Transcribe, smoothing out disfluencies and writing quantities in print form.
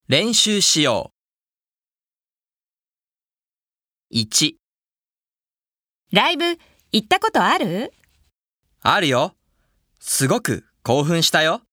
練習しよう。1、 ライブ行ったことある？ あるよ。すごく興奮したよ。